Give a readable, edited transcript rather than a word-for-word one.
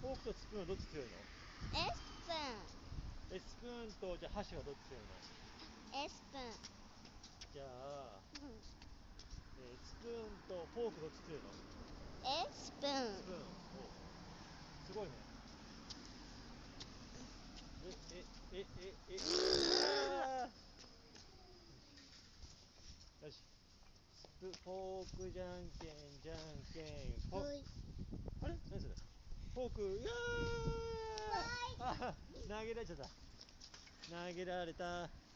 フォークとスプーンはどっち強いの？スプーンとじゃあ箸はどっち強いの？ スプーン。 じゃあ、スプーンとフォークどっち強いの？ スプーン。 スプーン。お、すごいね。よし。フォークじゃんけんじゃんけんポン。あれ何それ？フォーク、いやー、投げられちゃった。投げられた。